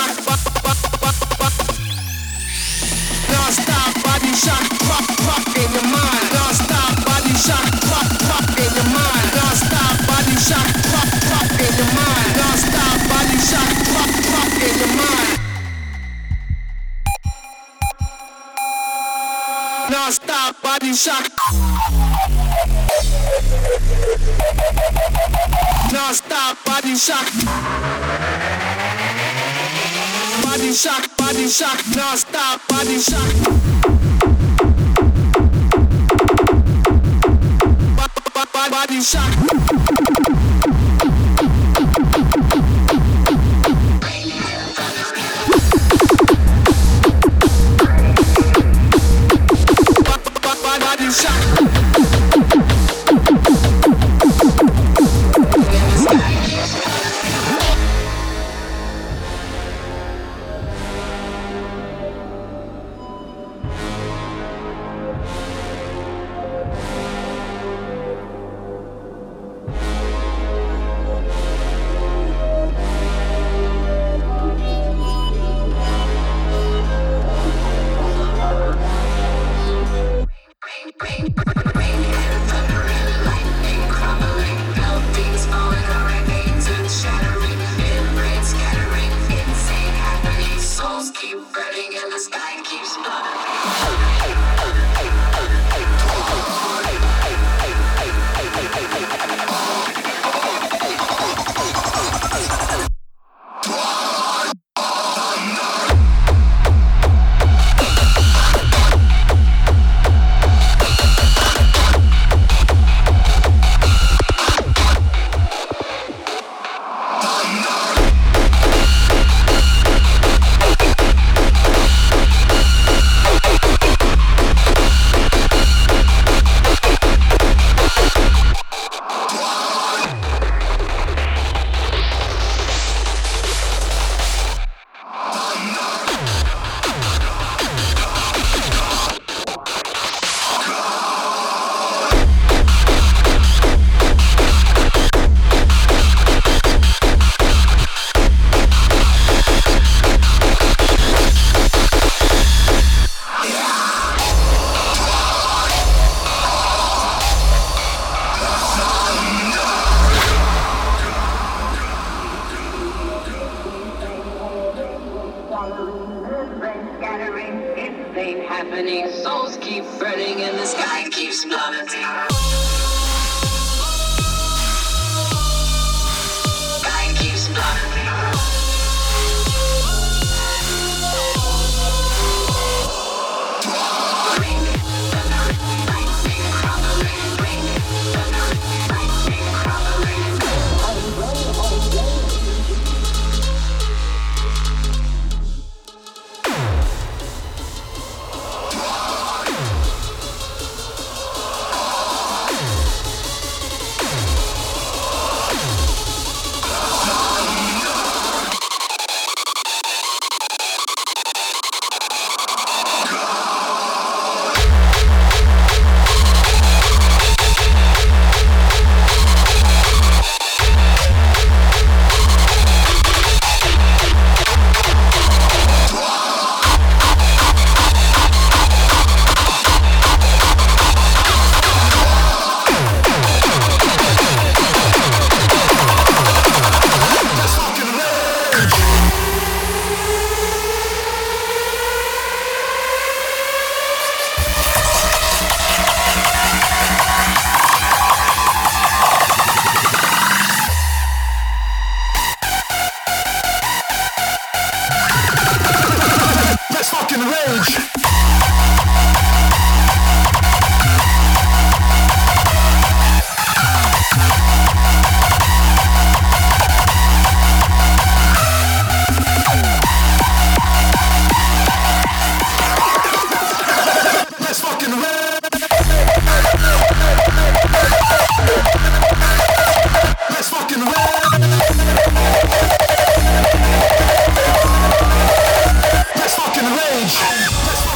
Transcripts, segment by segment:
shock, non-stop body shock, rock in your mind. Non-stop body shock, rock in your mind. Non-stop body shock, rock in your mind. Non-stop body shock, rock in your mind. Non-stop body shock. Non-stop body shock. Body shock, body shock, non-stop body shock. Body shock. Body shock. Let's fucking rage.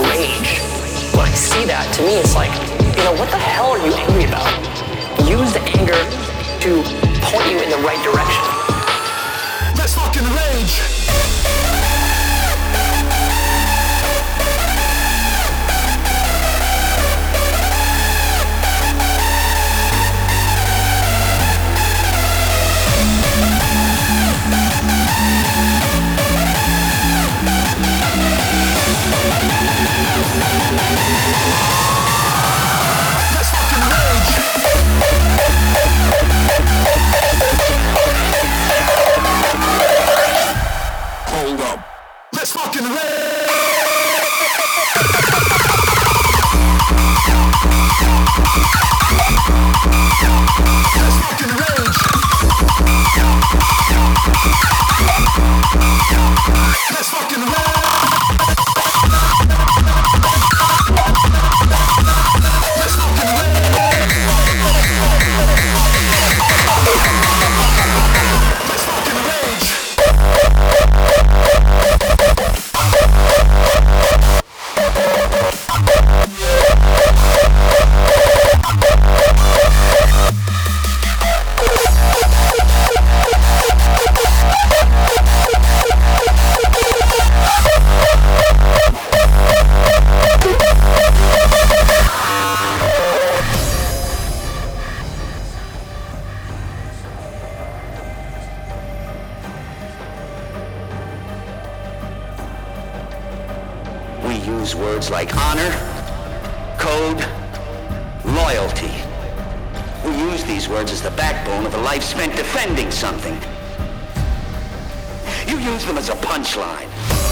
rage. When I see that, to me it's like, what the hell are you angry about? Use the anger to point you in the right direction. Let's fucking rage! Hold up. Let's fucking rage! Let's fucking rage! Let's fucking rage! Let's fucking rage! Use words like honor, code, loyalty. We use these words as the backbone of a life spent defending something. You use them as a punchline.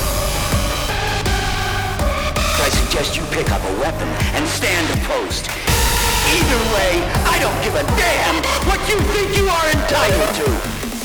I suggest you pick up a weapon and stand a post. Either way, I don't give a damn what you think you are entitled to.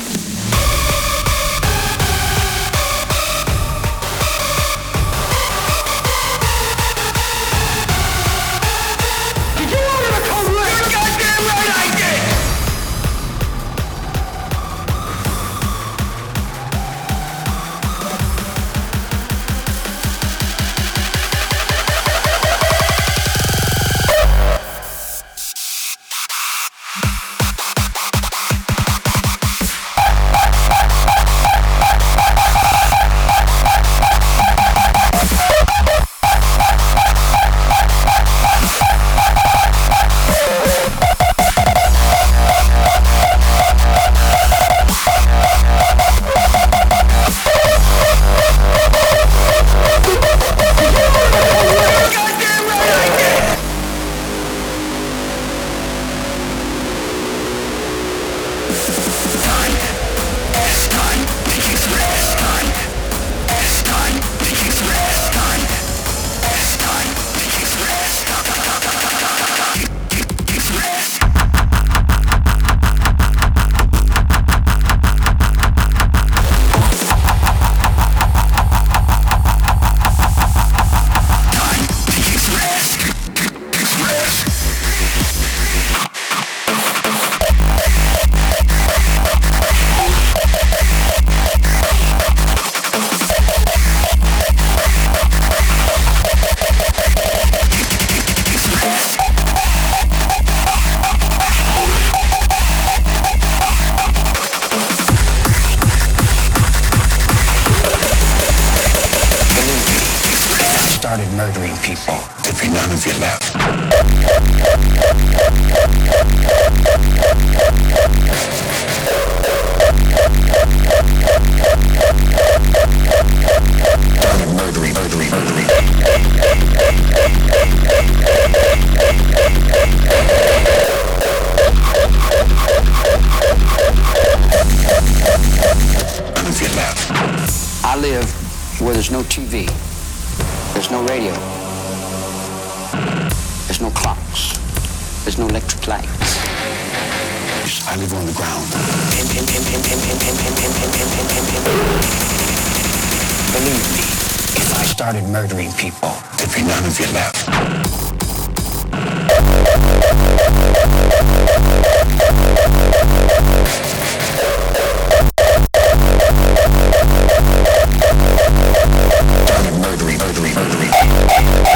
Started murdering people. There'd be none of you left. Started murdering. None of you left. I live where there's no TV. There's no radio. There's no clocks. There's no electric lights. I live on the ground. Believe me, if I started murdering people, there'd be none of you left. Started murdering.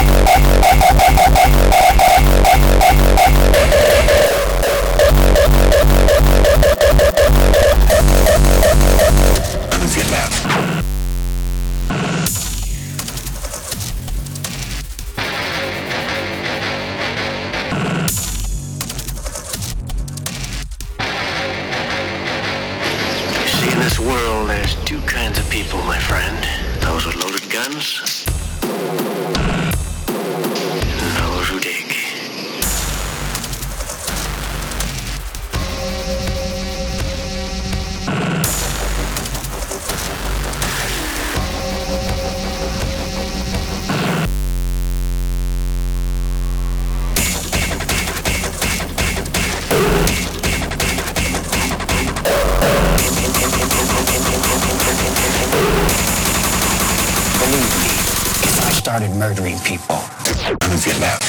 murdering people to prove your love.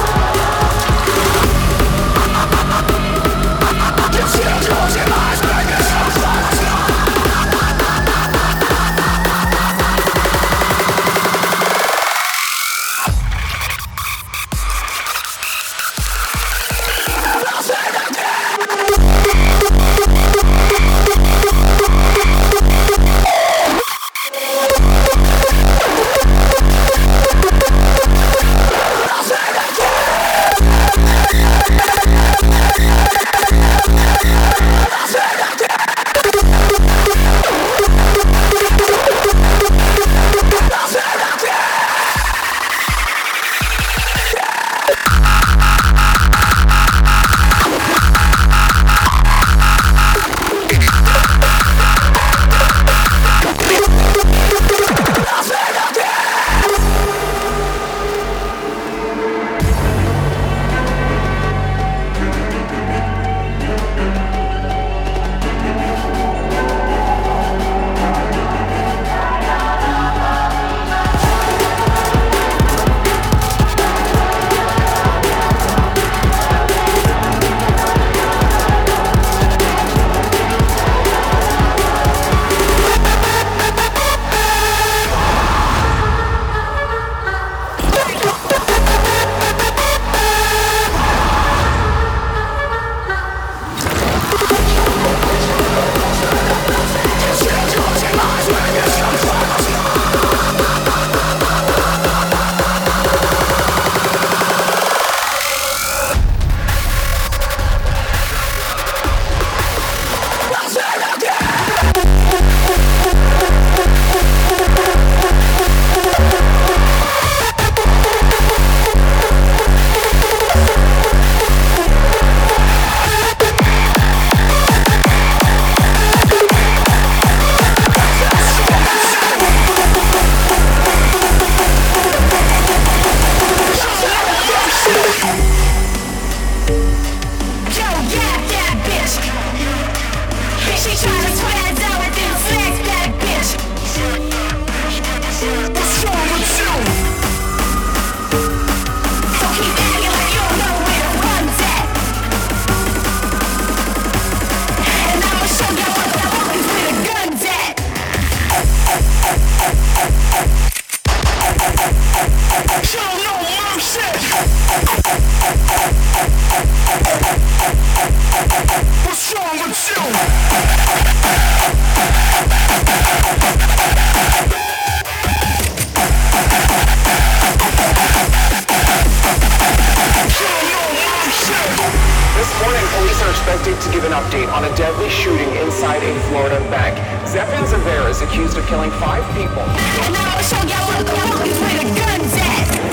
Close your eyes, baby. update on a deadly shooting inside a Florida bank. Zepin Zavera is accused of killing 5 people. And now I'll show y'all what the fuck is where the guns at.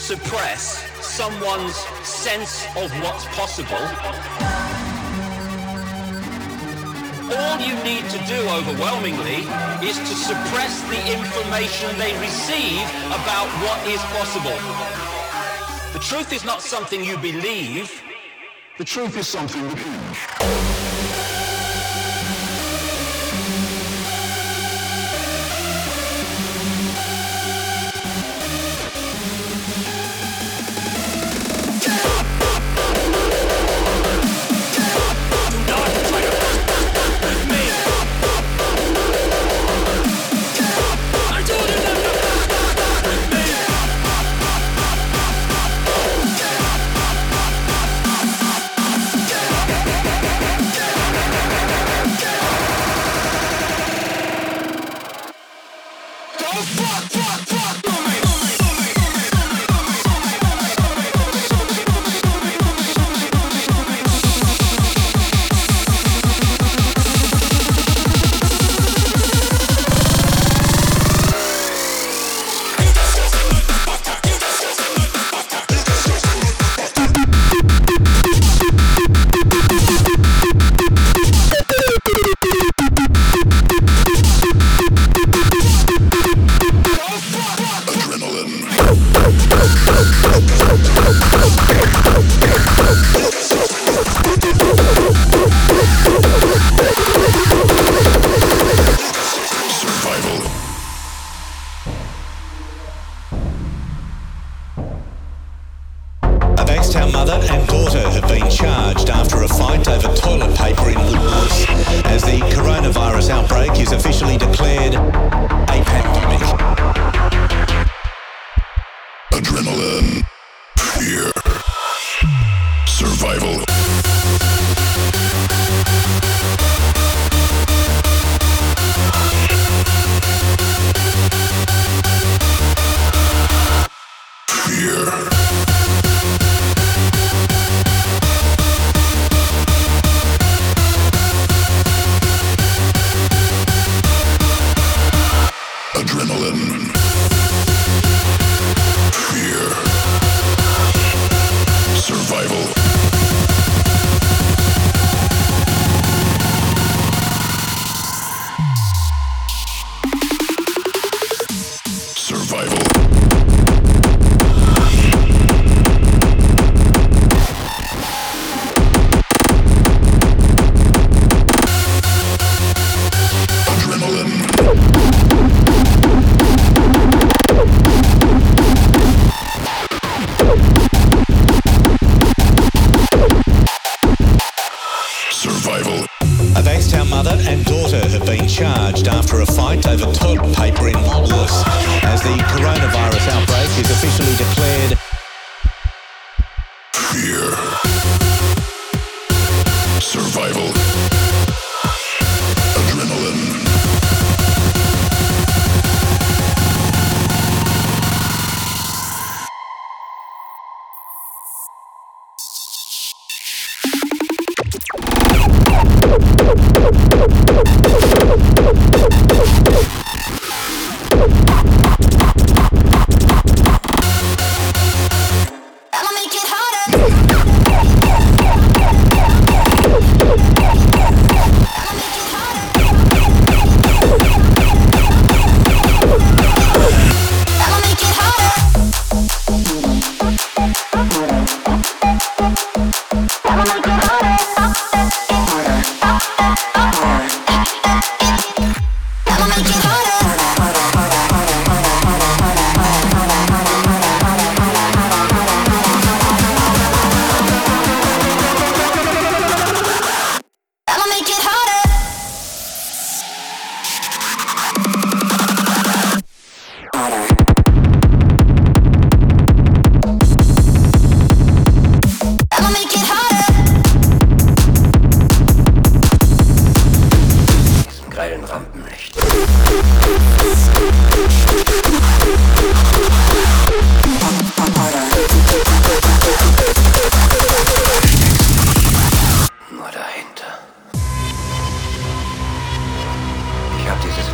suppress someone's sense of what's possible, all you need to do overwhelmingly is to suppress the information they receive about what is possible. The truth is not something you believe. The truth is something that is.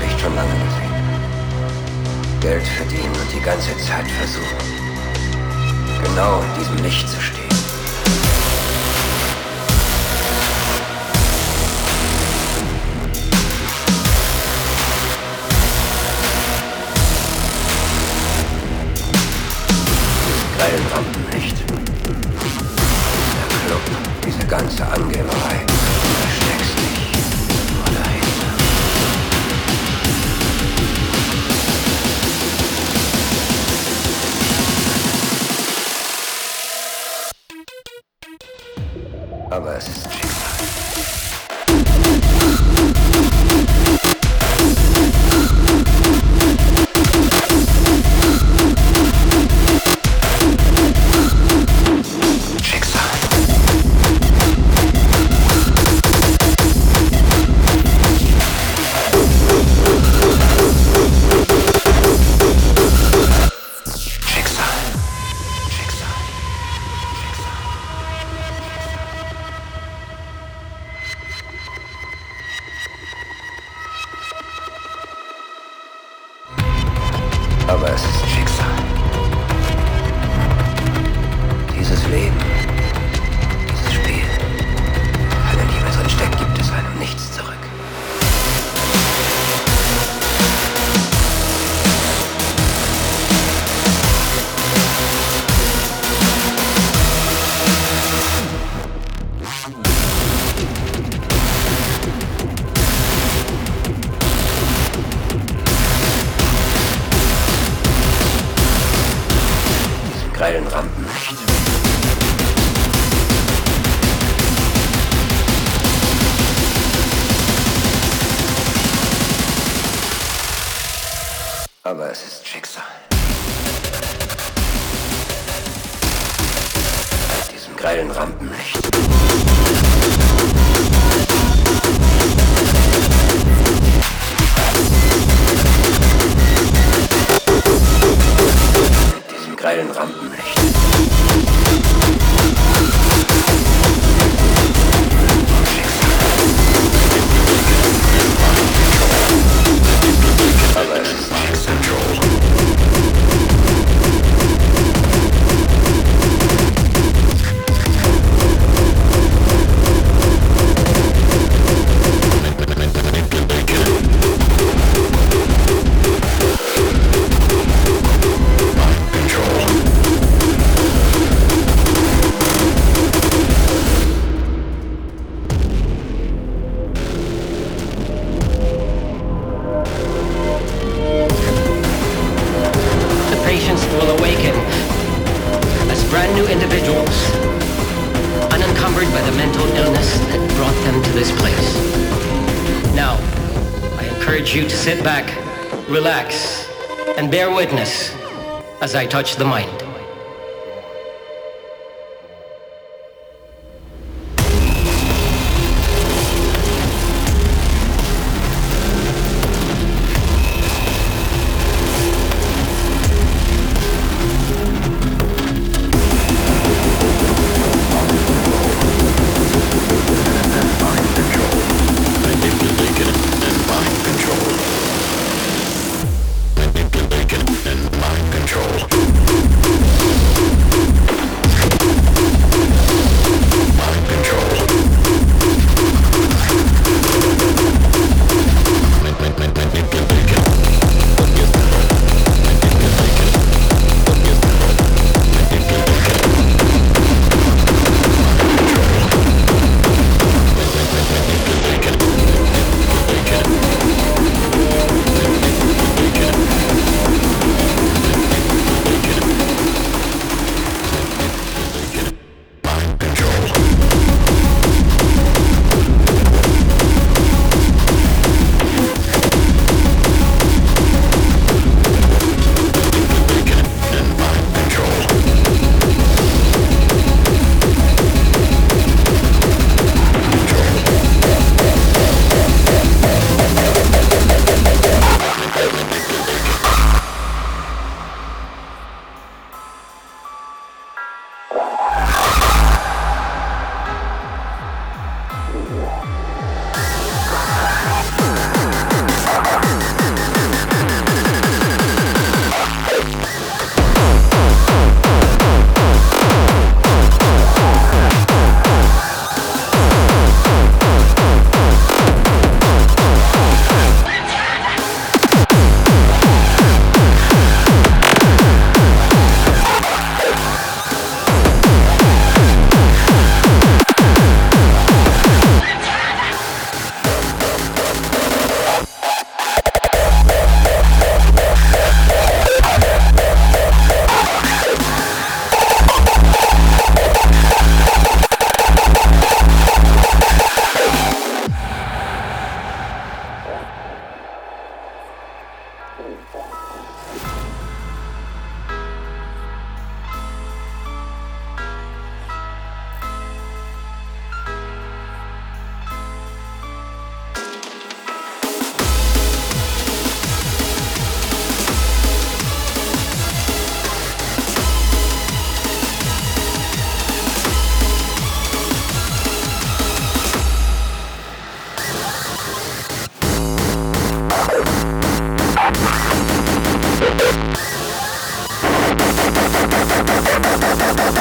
Geld verdienen und die ganze Zeit versuchen. genau in diesem Licht zu stehen. Geilen Rampenlicht. Der Club, diese ganze Angeberei. Du versteckst dich nur dahinter. Aber es ist Schicksal. Aber es ist Schicksal. Dieses Leben, dieses Spiel, wenn er Liebe drin steckt, gibt es einem nichts zurück. Geilen Rampenlicht. Aber es ist Schicksal. Mit diesem geilen Rampenlicht. Mit diesem geilen Rampenlicht. Aber es ist Schicksal. Will awaken as brand new individuals, unencumbered by the mental illness that brought them to this place. Now, I encourage you to sit back, relax, and bear witness as I touch the mind. Manipulated and mind control.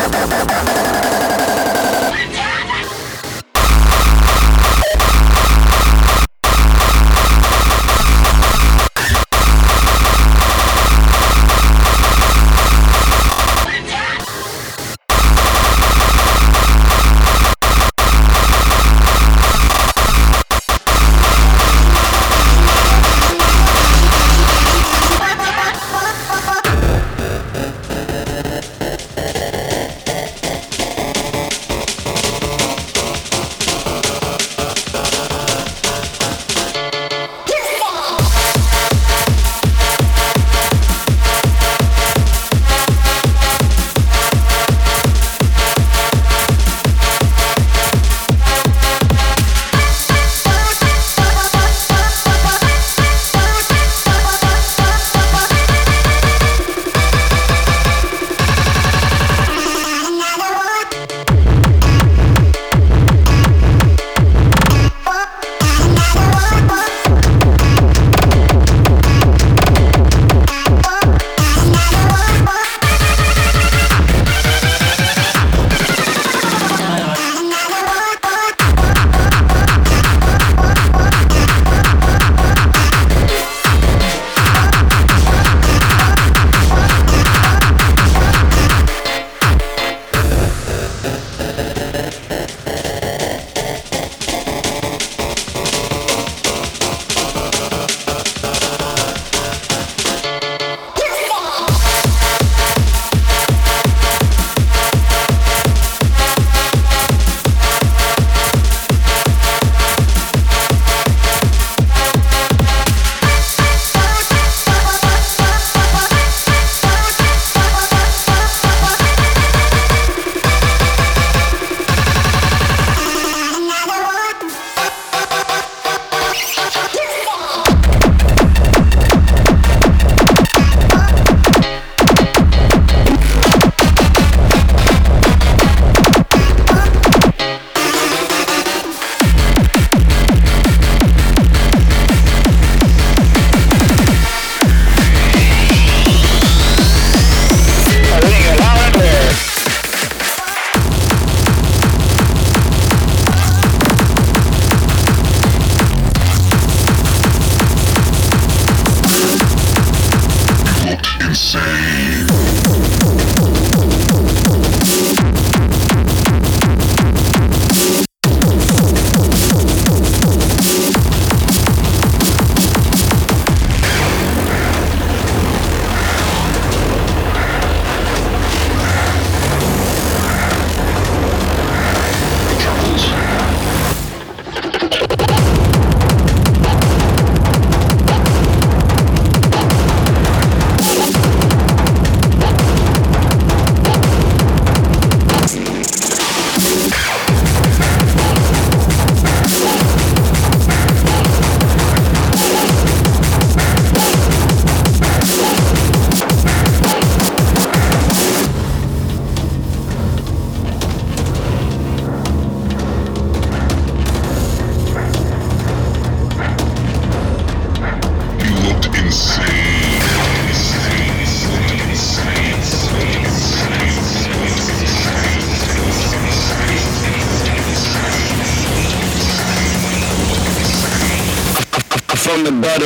from the butter.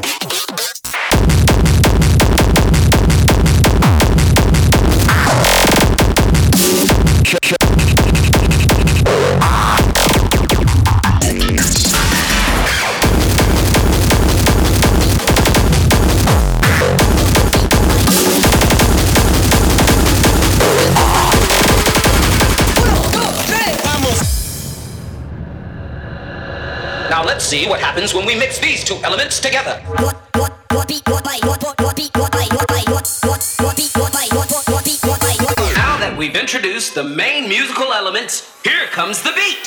Now let's see what happens when we mix these two elements together. Now that we've introduced the main musical elements, here comes the beat.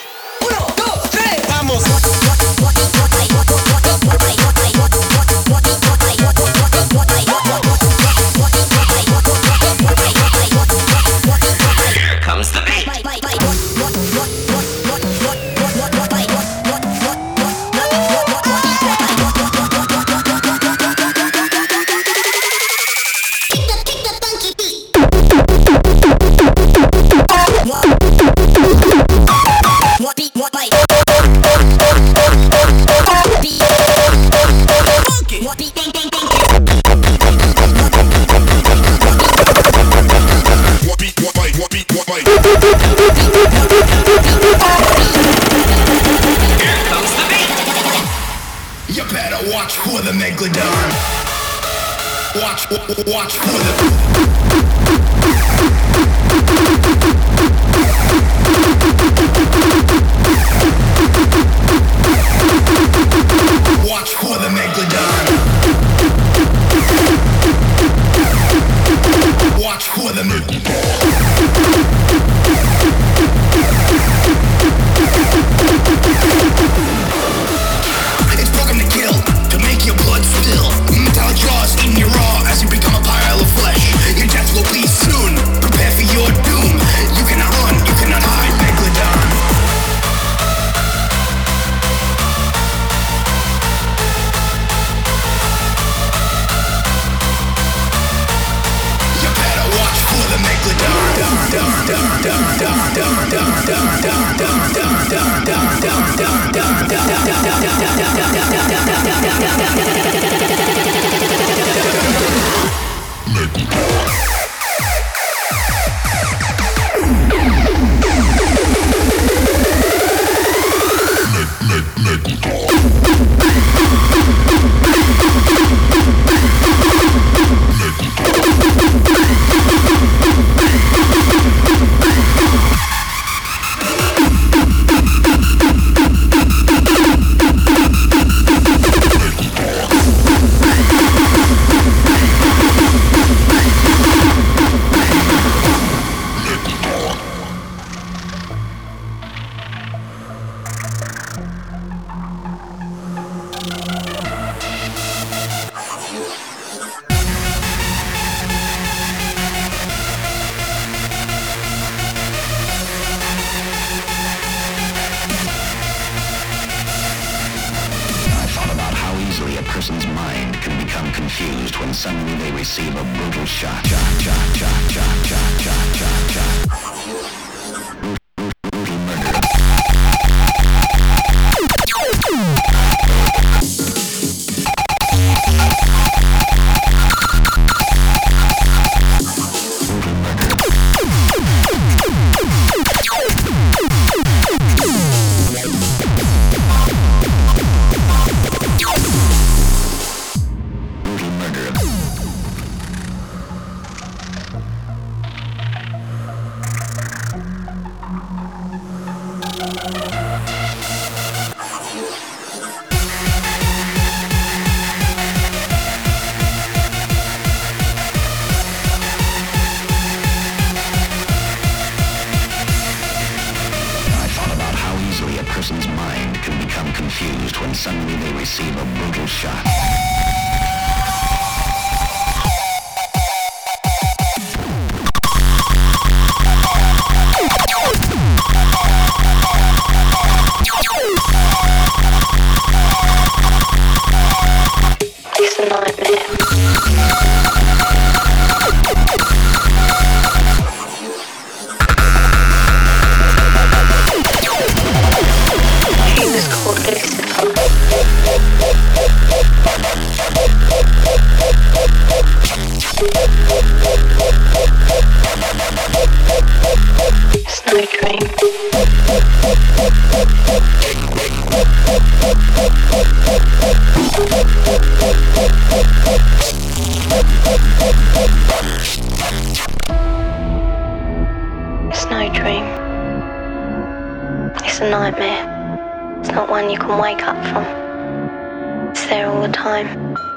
Here comes the beat. Kick the funky beat. Megalodon. Watch for the Watch for the Megalodon. Watch for the Megalodon. It's broken to kill, to make your blood spill. Metallic jaws eating you raw as you become a pile of flesh. Your death will be soon. Prepare for your doom. You cannot run, you cannot hide, Megalodon. You better watch for the Megalodon. person's mind can become confused when suddenly they receive a brutal shot. Brutal murder. Person's mind can become confused when suddenly they receive a brutal shot. It's a nightmare. Snow Dream. Snow Dream. It's a nightmare. It's not one you can wake up from. It's there all the time.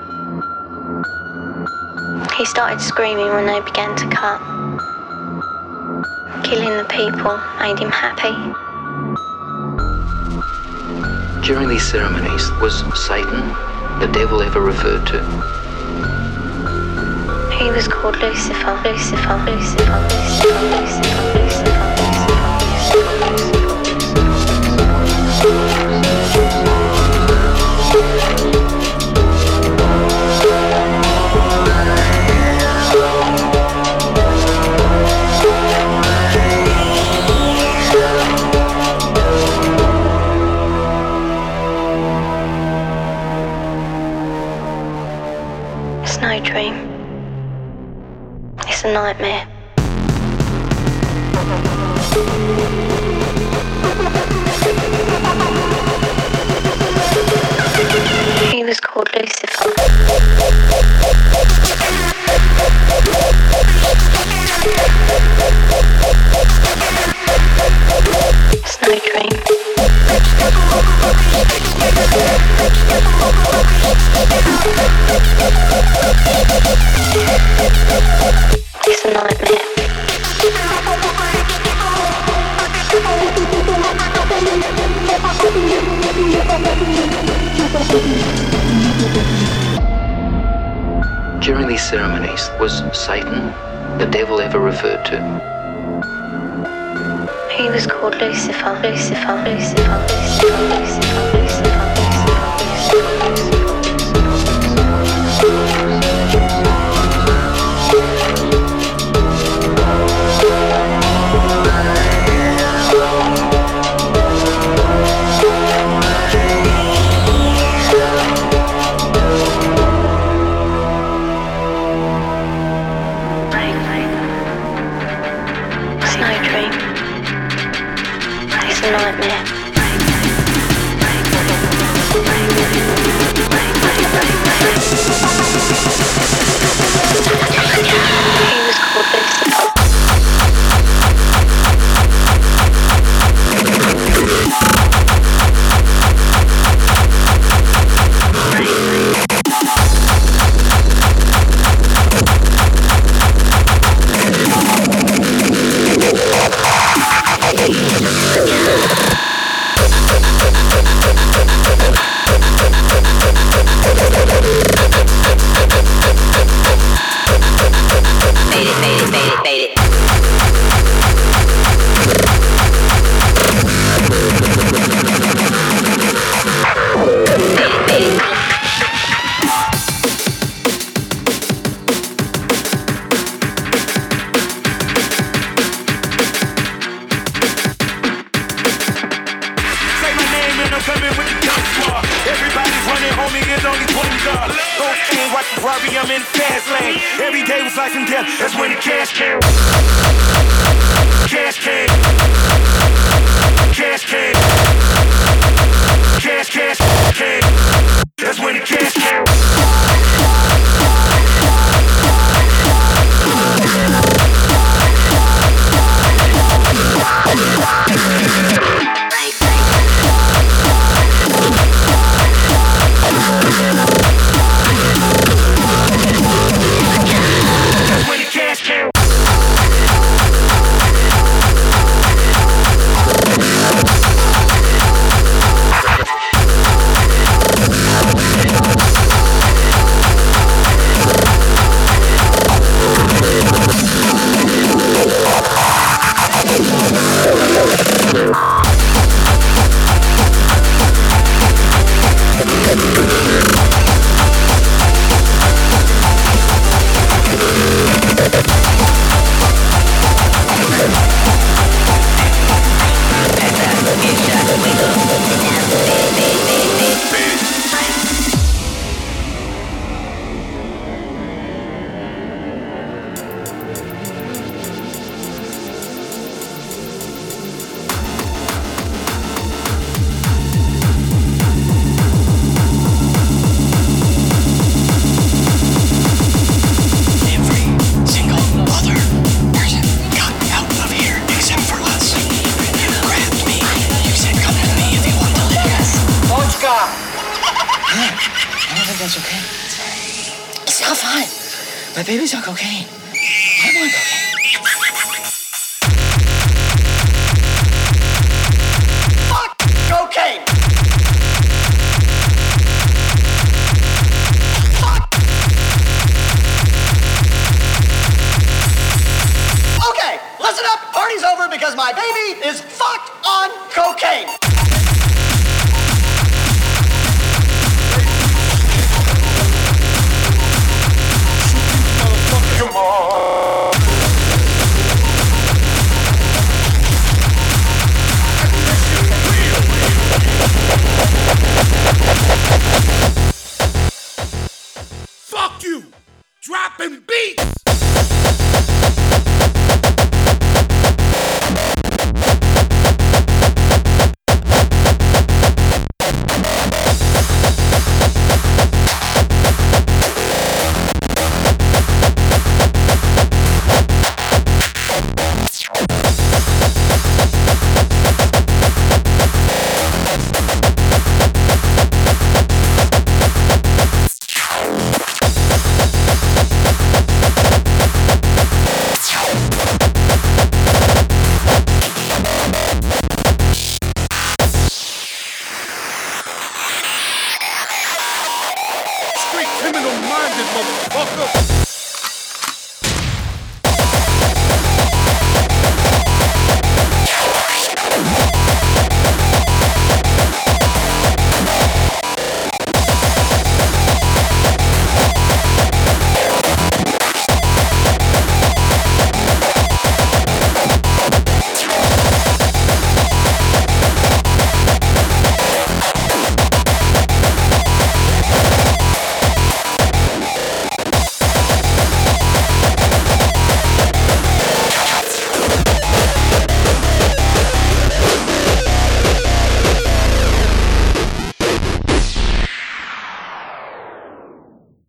He started screaming when they began to cut. Killing the people made him happy. During these ceremonies, was Satan the devil ever referred to? He was called Lucifer, Lucifer, Lucifer, Lucifer, Lucifer, Lucifer, Snow Dream. It's a nightmare. He was called Lucifer. It's no dream. It's a nightmare. During these ceremonies, was Satan the devil ever referred to? He was called Lucifer, Lucifer, Lucifer, Lucifer, Lucifer, Lucifer. That's okay. It's not fine. My baby's on cocaine. I'm on cocaine. Fuck cocaine! Fuck! Okay, listen up. Party's over because my baby is fucked on cocaine. Come on. Fuck you! Dropping beats!